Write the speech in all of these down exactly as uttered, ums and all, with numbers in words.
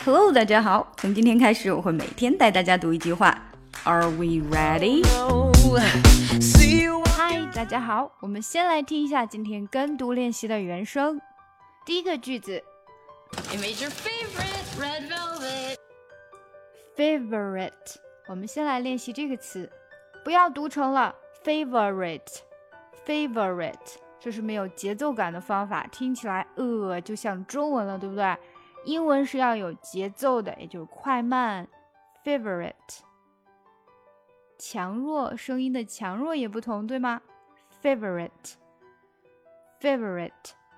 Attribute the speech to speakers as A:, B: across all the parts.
A: Hello， 大家好，从今天开始我会每天带大家读一句话。Are we ready? Hi， 大家好，我们先来听一下今天跟读练习的原声。第一个句子
B: I made your favorite red velvet.
A: Favorite， 我们先来练习这个词，不要读成了 favorite favorite， 这是没有节奏感的方法，听起来呃就像中文了，对不对？英文是要有节奏的，也就是快慢。Favorite， 强弱，声音的强弱也不同，对吗？ Favorite Favorite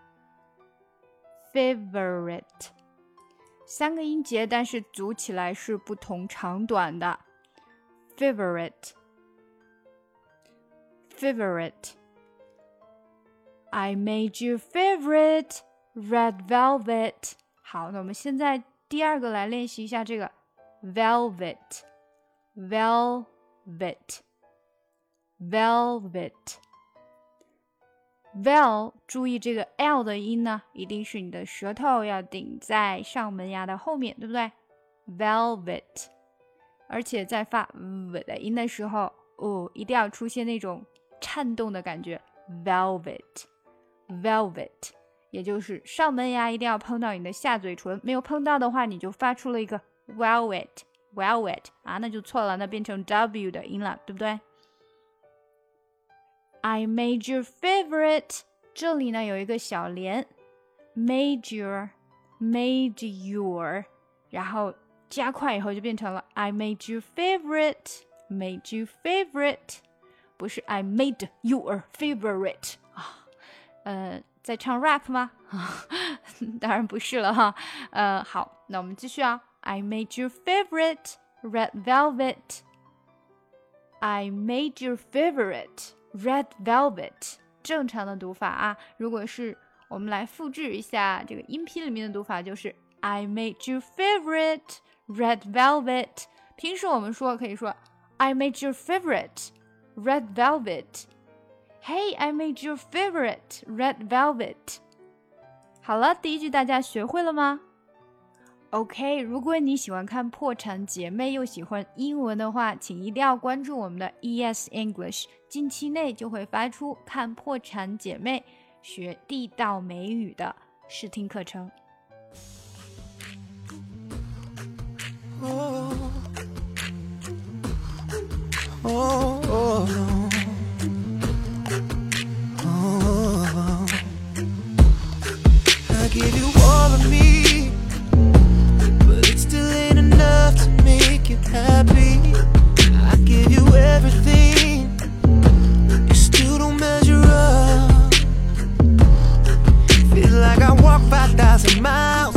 A: Favorite， 三个音节，但是组起来是不同长短的。 Favorite Favorite I made your favorite red velvet。 好，那我们现在第二个来练习一下这个 velvet velvet velvet vel， 注意这个 l 的音呢，一定是你的舌头要顶在上门牙的后面，对不对？ velvet， 而且在发 v 的音的时候，哦，一定要出现那种颤动的感觉。 velvet velvet， 也就是上门牙一定要碰到你的下嘴唇，没有碰到的话，你就发出了一个 velvet velvet 啊，那就错了，那变成 w 的音了，对不对？I made your favorite， 这里呢有一个小连 made your made your， 然后加快以后就变成了 I made your favorite made your favorite， 不是 I made your favorite 啊，呃，在唱 rap 吗？当然不是了哈。呃，好，那我们继续啊。I made your favorite red velvet I made your favorite red velvet， 正常的读法啊，如果是我们来复制一下这个音频里面的读法，就是 I made your favorite red velvet。 平时我们说可以说 I made your favorite red velvet Hey I made your favorite red velvet。 好了，第一句大家学会了吗？ OK， 如果你喜欢看破产姐妹又喜欢英文的话，请一定要关注我们的 E S English， 近期内就会发出看破产姐妹学地道美语的试听课程。
C: Oh, oh, oh, oh. I give you all of me, but it still ain't enough to make you happy. I give you everything, you still don't measure up. Feel like I walked five thousand miles